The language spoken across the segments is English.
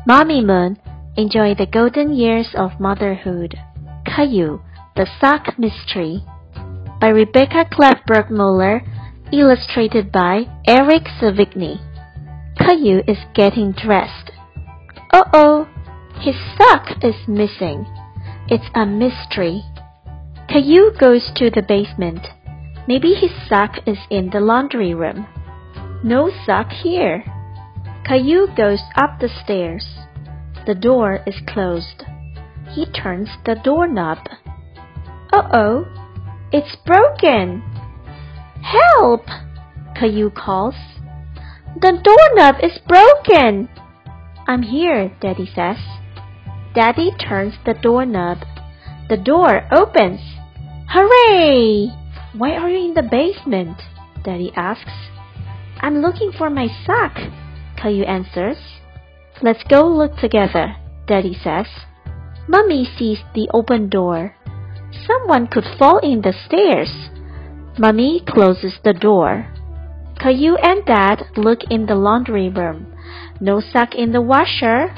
Mommy Moon, enjoy the golden years of motherhood. Caillou, the Sock Mystery. By Rebecca Klefberg Muller, illustrated by Eric Savigny. Caillou is getting dressed. Uh-oh, his sock is missing. It's a mystery. Caillou goes to the basement. Maybe his sock is in the laundry room. No sock here. Caillou goes up the stairs. The door is closed. He turns the doorknob. Uh-oh, it's broken. Help! Caillou calls. The doorknob is broken. I'm here, Daddy says. Daddy turns the doorknob. The door opens. Hooray! Why are you in the basement? Daddy asks. I'm looking for my sock, Caillou answers. Let's go look together, Daddy says. Mummy sees the open door. Someone could fall in the stairs. Mummy closes the door. Caillou and Dad look in the laundry room. No sock in the washer.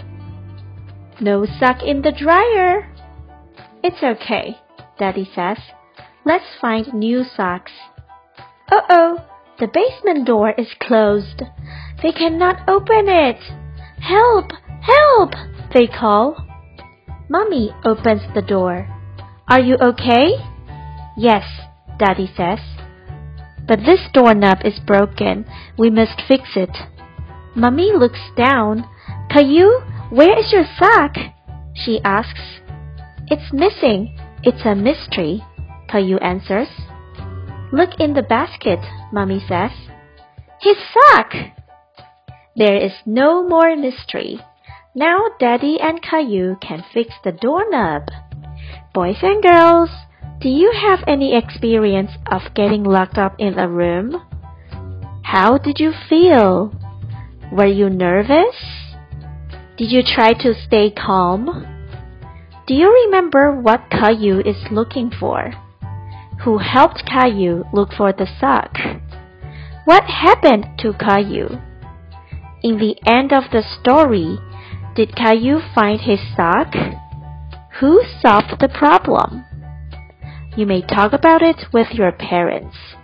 No sock in the dryer. It's okay, Daddy says. Let's find new socks. Uh-oh, the basement door is closed. They cannot open it. Help! Help! They call. Mommy opens the door. Are you okay? Yes, Daddy says. But this doorknob is broken. We must fix it. Mommy looks down. Caillou, where is your sock? She asks. It's missing. It's a mystery, Caillou answers. Look in the basket, Mommy says. His sock! There is no more mystery. Now Daddy and Caillou can fix the doorknob. Boys and girls, do you have any experience of getting locked up in a room? How did you feel? Were you nervous? Did you try to stay calm? Do you remember what Caillou is looking for? Who helped Caillou look for the sock? What happened to Caillou? In the end of the story, did Caillou find his sock? Who solved the problem? You may talk about it with your parents.